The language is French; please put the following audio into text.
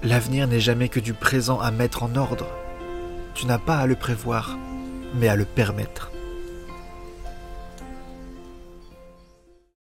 L'avenir n'est jamais que du présent à mettre en ordre. Tu n'as pas à le prévoir, mais à le permettre.